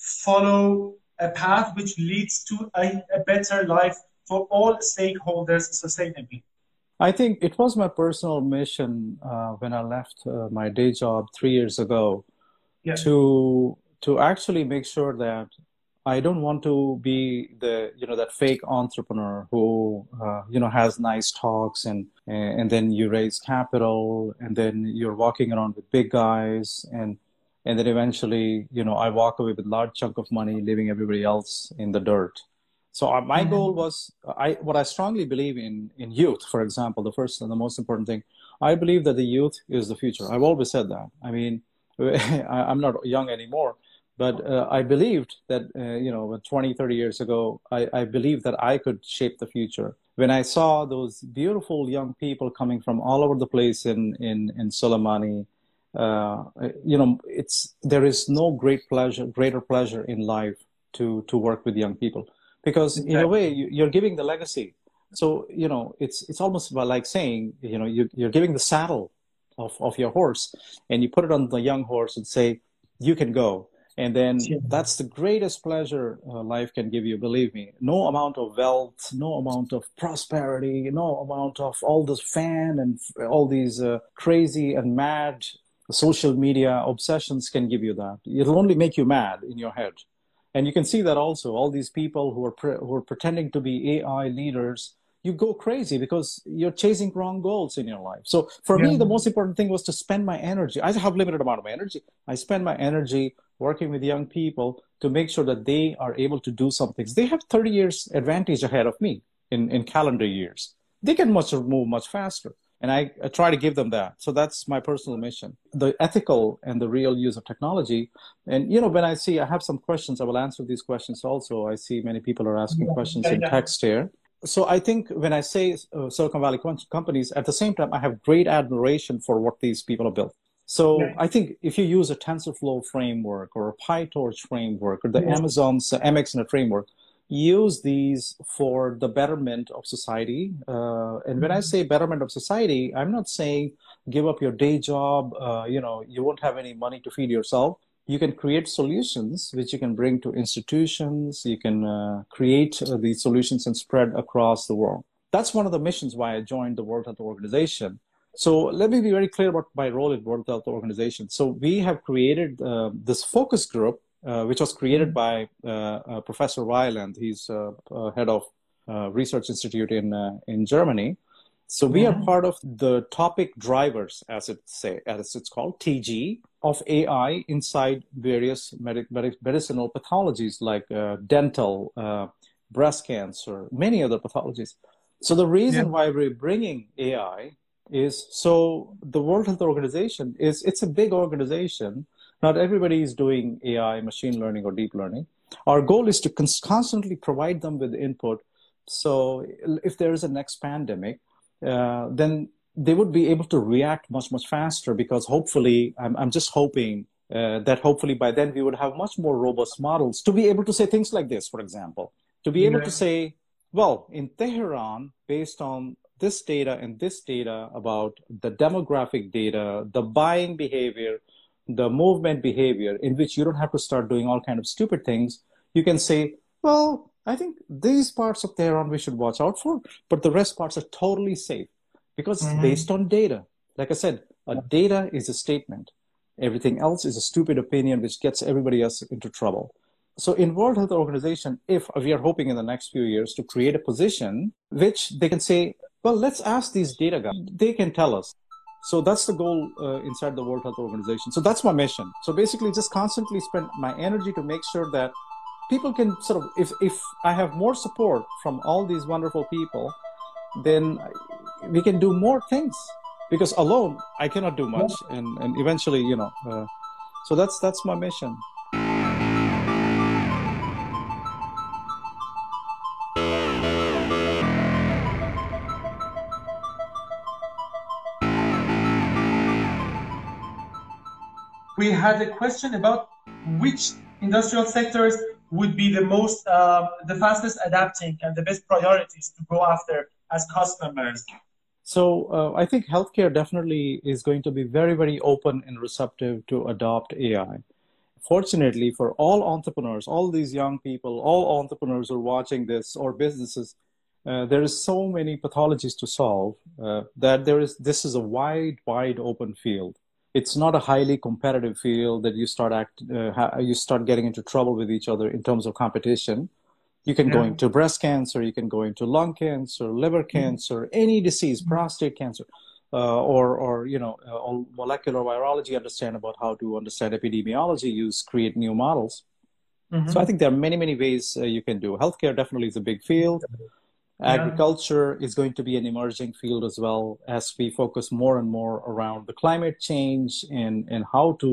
follow a path which leads to a, a better life for all stakeholders sustainably? I think it was my personal mission uh, when I left uh, my day job three years ago yeah. to to actually make sure that I don't want to be the, you know, that fake entrepreneur who, uh, you know, has nice talks and, and then you raise capital and then you're walking around with big guys and, and then eventually, you know, I walk away with a large chunk of money, leaving everybody else in the dirt. So uh, my mm-hmm. goal was, I, what I strongly believe in, in youth, for example, the first and the most important thing, I believe that the youth is the future. I've always said that. I mean, I, I'm not young anymore. But uh, I believed that, uh, you know, twenty, thirty years ago, I, I believed that I could shape the future. When I saw those beautiful young people coming from all over the place in, in, in Suleimani, uh, you know, it's, there is no great pleasure, greater pleasure in life to, to work with young people, because in a way you, you're giving the legacy. So, you know, it's, it's almost like saying, you know, you, you're giving the saddle of, of your horse, and you put it on the young horse and say, you can go. And then that's the greatest pleasure uh, life can give you, believe me. No amount of wealth, no amount of prosperity, no amount of all this fan and all these uh, crazy and mad social media obsessions can give you that. It'll only make you mad in your head. And you can see that also, all these people who are, pre- who are pretending to be A I leaders, you go crazy because you're chasing wrong goals in your life. So for yeah. me, the most important thing was to spend my energy. I have limited amount of energy. I spend my energy working with young people to make sure that they are able to do some things. They have thirty years advantage ahead of me in, in calendar years. They can much move much faster. And I, I try to give them that. So that's my personal mission. The ethical and the real use of technology. And, you know, when I see, I have some questions, I will answer these questions also. I see many people are asking yeah. questions yeah, in yeah. text here. So I think when I say uh, Silicon Valley companies, at the same time, I have great admiration for what these people have built. So yeah. I think if you use a TensorFlow framework or a PyTorch framework or the yeah. Amazon's uh, M X Net framework, use these for the betterment of society. Uh, and when I say betterment of society, I'm not saying give up your day job, uh, you know, you won't have any money to feed yourself. You can create solutions which you can bring to institutions. You can uh, create uh, these solutions and spread across the world. That's one of the missions why I joined the World Health Organization. So let me be very clear about my role at World Health Organization. So we have created uh, this focus group, uh, which was created by uh, uh, Professor Ryland. He's uh, uh, head of uh, Research Institute in uh, in Germany. So we yeah. are part of the topic drivers, as it say, as it's called, T G, of A I inside various medic, medic, medicinal pathologies like uh, dental, uh, breast cancer, many other pathologies. So the reason yeah. why we're bringing A I is so the World Health Organization is, it's a big organization. Not everybody is doing A I, machine learning, or deep learning. Our goal is to cons- constantly provide them with input. So if there is a next pandemic, uh, then they would be able to react much, much faster, because hopefully, I'm, I'm just hoping uh, that hopefully by then we would have much more robust models to be able to say things like this, for example, to be able yeah. to say, well, in Tehran, based on this data and this data about the demographic data, the buying behavior, the movement behavior, in which you don't have to start doing all kind of stupid things, you can say, well, I think these parts of Tehran we should watch out for, but the rest parts are totally safe because mm-hmm. it's based on data. Like I said, a data is a statement. Everything else is a stupid opinion which gets everybody else into trouble. So in World Health Organization, if we are hoping in the next few years to create a position which they can say, well, let's ask these data guys. They can tell us. So that's the goal uh, inside the World Health Organization. So that's my mission. So basically just constantly spend my energy to make sure that people can sort of, if, if I have more support from all these wonderful people, then we can do more things, because alone I cannot do much. And, and eventually, you know, uh, so that's, that's my mission. We had a question about which industrial sectors would be the most, uh, the fastest adapting and the best priorities to go after as customers. So uh, I think healthcare definitely is going to be very, very open and receptive to adopt A I. Fortunately for all entrepreneurs, all these young people, all entrepreneurs who are watching this, or businesses, uh, there is so many pathologies to solve uh, that there is, this is a wide, wide open field. It's not a highly competitive field that you start act, uh, ha- you start getting into trouble with each other in terms of competition. You can yeah. go into breast cancer, you can go into lung cancer, liver cancer, mm-hmm. any disease, prostate cancer, uh, or, or, you know, uh, all molecular virology, understand about how to understand epidemiology, use, create new models. Mm-hmm. So I think there are many, many ways uh, you can do. Healthcare definitely is a big field. Yeah. Agriculture is going to be an emerging field as well, as we focus more and more around the climate change and, and how to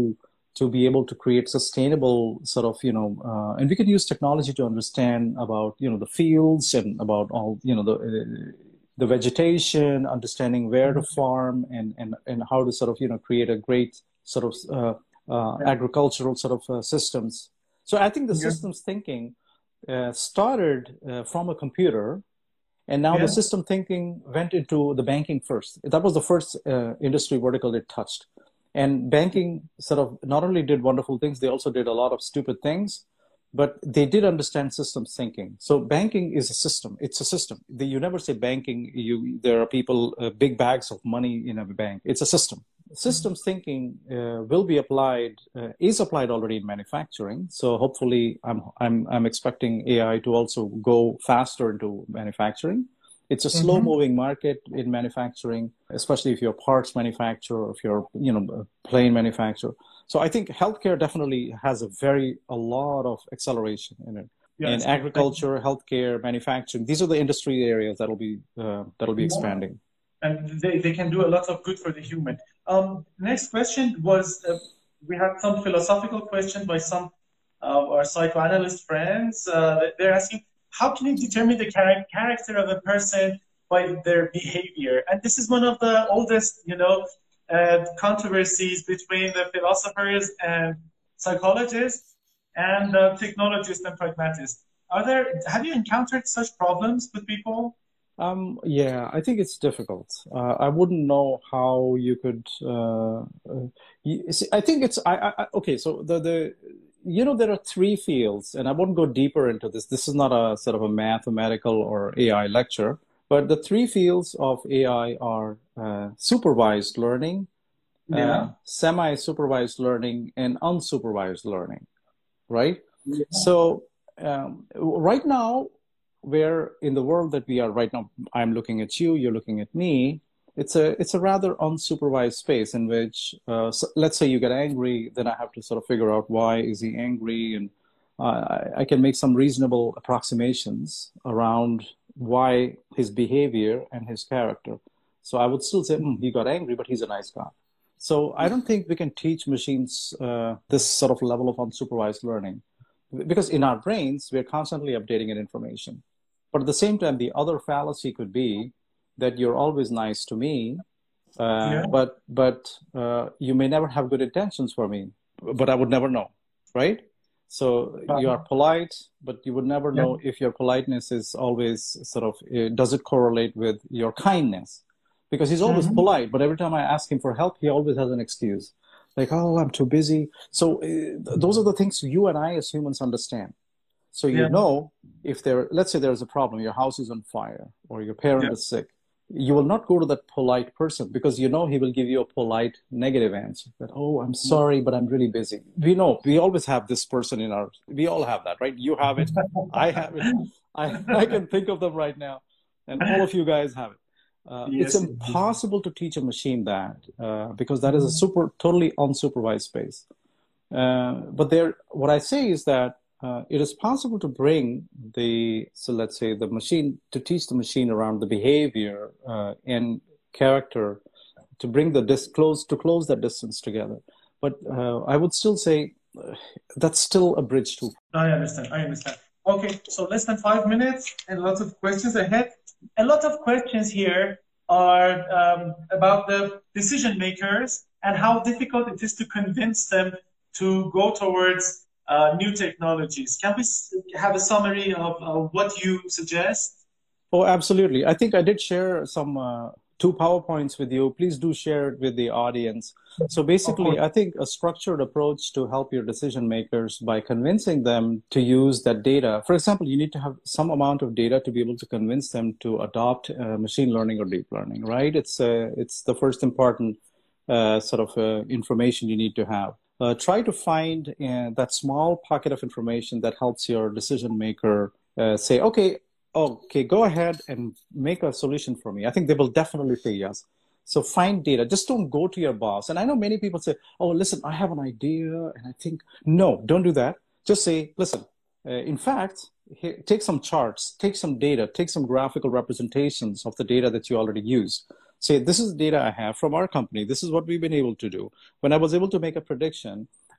to be able to create sustainable sort of, you know, uh, and we can use technology to understand about, you know, the fields and about all, you know, the uh, the vegetation, understanding where to farm and, and, and how to sort of, you know, create a great sort of uh, uh, agricultural sort of uh, systems. So I think the yeah. systems thinking uh, started uh, from a computer, and now yeah. the system thinking went into the banking first. That was the first uh, industry vertical it touched. And banking sort of not only did wonderful things, they also did a lot of stupid things, but they did understand systems thinking. So banking is a system. It's a system. You never say banking, you, there are people, uh, big bags of money in a bank. It's a system. Systems thinking uh, will be applied, uh, is applied already in manufacturing. So hopefully I'm, I'm, I'm expecting A I to also go faster into manufacturing. It's a slow moving mm-hmm. market in manufacturing, especially if you're a parts manufacturer, or if you're, you know, a plane manufacturer. So I think healthcare definitely has a very, a lot of acceleration in it. Yes. In agriculture, healthcare, manufacturing, these are the industry areas that'll be, uh, that'll be expanding. And they, they can do a lot of good for the human. Um, next question was, uh, we had some philosophical questions by some of our psychoanalyst friends. Uh, they're asking, how can you determine the char- character of a person by their behavior? And this is one of the oldest, you know, uh, controversies between the philosophers and psychologists and uh, technologists and pragmatists. Are there? Have you encountered such problems with people? Um, yeah, I think it's difficult. Uh, I wouldn't know how you could. Uh, uh, you, see, I think it's. I, I okay. So the the. You know, there are three fields, and I won't go deeper into this. This is not a sort of a mathematical or A I lecture, but the three fields of A I are uh, supervised learning, yeah. uh, semi-supervised learning, and unsupervised learning, right? Yeah. So um, right now, where in the world that we are right now, I'm looking at you, you're looking at me. It's a it's a rather unsupervised space in which, uh, so let's say you get angry, then I have to sort of figure out why is he angry, and uh, I, I can make some reasonable approximations around why his behavior and his character. So I would still say, mm, he got angry, but he's a nice guy. So I don't think we can teach machines uh, this sort of level of unsupervised learning, because in our brains, we're constantly updating information. But at the same time, the other fallacy could be that you're always nice to me, uh, yeah. but but uh, you may never have good intentions for me, but I would never know, right? So uh-huh. you are polite, but you would never know yeah. if your politeness is always sort of, uh, does it correlate with your kindness? Because he's always mm-hmm. polite, but every time I ask him for help, he always has an excuse. Like, oh, I'm too busy. So uh, those are the things you and I as humans understand. So you yeah. know, if there, let's say there's a problem, your house is on fire, or your parent yeah. is sick, you will not go to that polite person because you know he will give you a polite negative answer. That, oh, I'm sorry, but I'm really busy. We know, we always have this person in our, we all have that, right? You have it, I have it, I, I can think of them right now, and all of you guys have it. Uh, yes. It's impossible to teach a machine that uh, because that is a super, totally unsupervised space. Uh, but there, what I say is that Uh, it is possible to bring the, so let's say the machine, to teach the machine around the behavior uh, and character, to bring the dis close, to close that distance together. But uh, I would still say uh, that's still a bridge too. I understand, I understand. Okay, so less than five minutes and lots of questions ahead. A lot of questions here are um, about the decision makers and how difficult it is to convince them to go towards Uh, new technologies. Can we have a summary of uh, what you suggest? Oh, absolutely. I think I did share some uh, two PowerPoints with you. Please do share it with the audience. So basically, I think a structured approach to help your decision makers by convincing them to use that data. For example, you need to have some amount of data to be able to convince them to adopt uh, machine learning or deep learning, right? It's, uh, it's the first important uh, sort of uh, information you need to have. Uh, try to find uh, that small pocket of information that helps your decision maker uh, say, okay, okay, go ahead and make a solution for me. I think they will definitely say yes. So find data. Just don't go to your boss. And I know many people say, oh, listen, I have an idea. And I think, no, don't do that. Just say, listen, uh, in fact, here, take some charts, take some data, take some graphical representations of the data that you already used. Say, this is the data I have from our company. This is what we've been able to do. When I was able to make a prediction,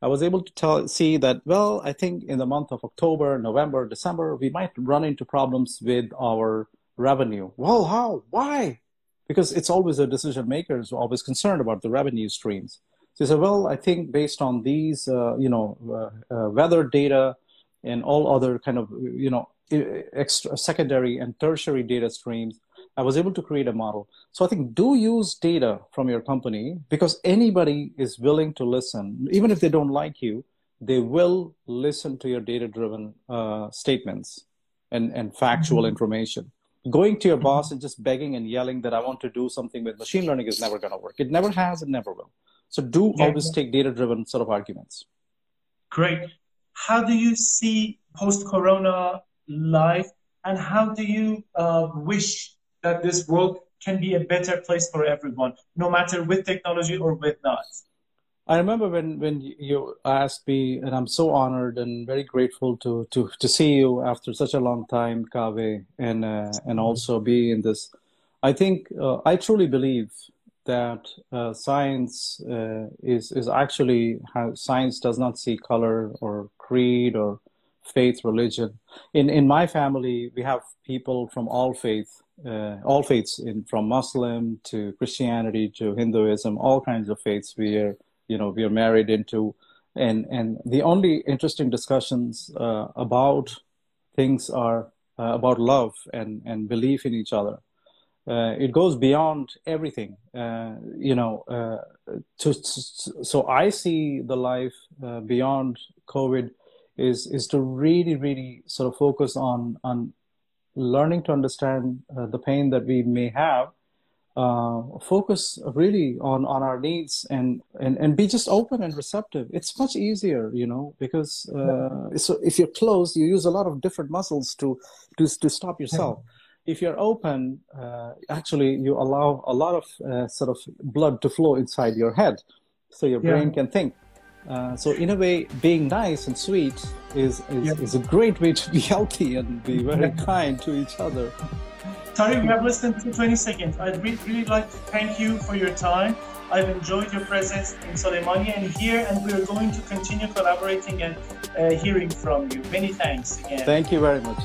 I was able to tell, see that, well, I think in the month of October, November, December, we might run into problems with our revenue. Well, how? Why? Because it's always the decision makers who are always concerned about the revenue streams. So he said, well, I think based on these, uh, you know, uh, uh, weather data and all other kind of, you know, extra secondary and tertiary data streams, I was able to create a model. So I think do use data from your company, because anybody is willing to listen. Even if they don't like you, they will listen to your data-driven uh, statements and, and factual mm-hmm. information. Going to your boss and just begging and yelling that I want to do something with machine learning is never going to work. It never has, it never will. So do yeah, always yeah. take data-driven sort of arguments. Great. How do you see post-corona life, and how do you uh, wish that this world can be a better place for everyone, no matter with technology or with not? I remember when, when you asked me, and I'm so honored and very grateful to to, to see you after such a long time, Kaveh, and uh, and also be in this. I think uh, I truly believe that uh, science uh, is is actually how science does not see color or creed or faith, religion. In in my family, we have people from all faith, uh, all faiths, in from Muslim to Christianity to Hinduism, all kinds of faiths. We are, you know, we are married into, and and the only interesting discussions uh, about things are uh, about love and and belief in each other. Uh, it goes beyond everything, uh, you know. Uh, to, to, so I see the life uh, beyond COVID is is to really, really sort of focus on on learning to understand uh, the pain that we may have. Uh, focus really on on our needs and and and be just open and receptive. It's much easier, you know, because uh, so if you're closed, you use a lot of different muscles to to to stop yourself. If you're open, uh, actually, you allow a lot of uh, sort of blood to flow inside your head, so your brain yeah. can think. Uh, so in a way, being nice and sweet is is, yeah. is a great way to be healthy and be very yeah. kind to each other. Tariq, we have less than twenty seconds. I'd re- really like to thank you for your time. I've enjoyed your presence in Soleimani and here, and we're going to continue collaborating and uh, hearing from you. Many thanks again. Thank you very much.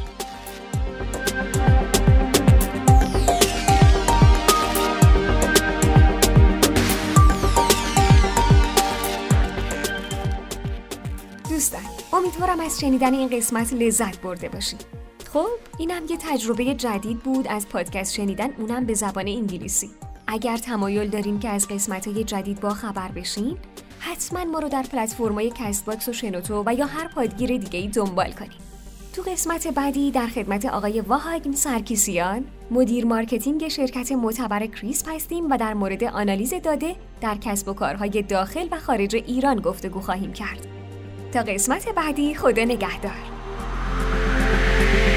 دوستان، امیدوارم از شنیدن این قسمت لذت برده باشید. خب، اینم یه تجربه جدید بود از پادکست شنیدن، اونم به زبان انگلیسی. اگر تمایل دارین که از قسمت‌های جدید با خبر بشین، حتما ما رو در پلتفرم‌های کست باکس و شنوتو و یا هر پادگیر دیگه‌ای دنبال کنین. تو قسمت بعدی در خدمت آقای واهاگن سرکیسیان، مدیر مارکتینگ شرکت معتبر کریسپ هستیم و در مورد آنالیز داده در کسب و کارهای داخل و خارج ایران گفتگو خواهیم کرد. تا قسمت بعدی، خدا نگهدار.